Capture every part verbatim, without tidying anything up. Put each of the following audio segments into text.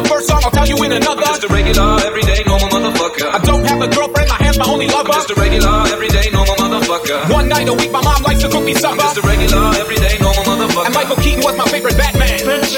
the first song, I'll tell you in another. I'm just a regular, everyday, normal motherfucker. I don't have a girlfriend, my hand's my only lover. I'm just a regular, everyday, normal motherfucker. One night a week, my mom likes to cook me supper. I'm just a regular, everyday, normal motherfucker. And Michael Keaton was my favorite Batman.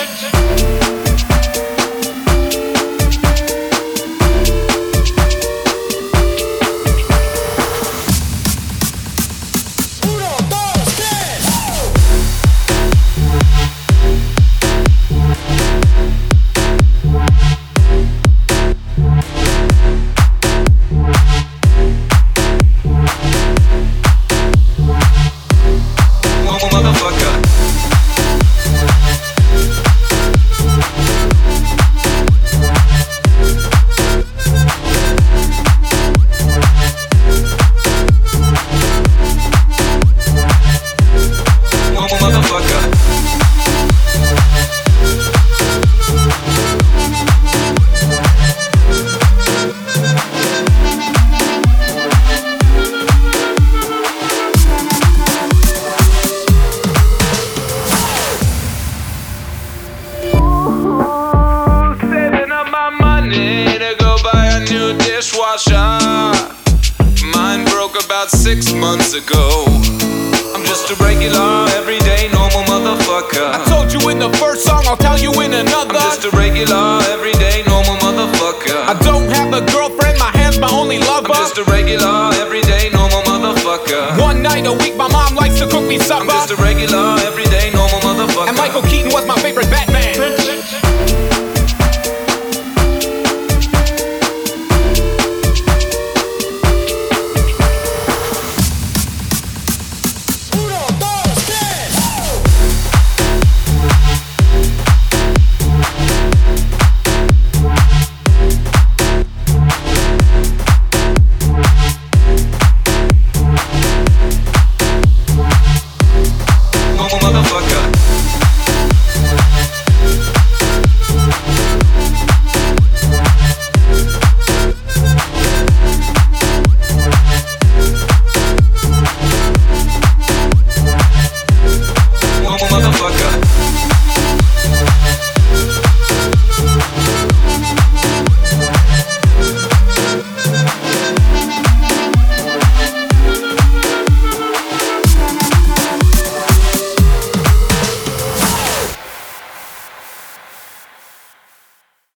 Mine broke about six months ago. I'm just a regular, everyday, normal motherfucker. I told you in the first song, I'll tell you in another. I'm just a regular, everyday, normal motherfucker. I don't have a girlfriend, my hand's my only lover. I'm just a regular, everyday, normal motherfucker. One night a week, my mom likes to cook me supper. I'm just a regular,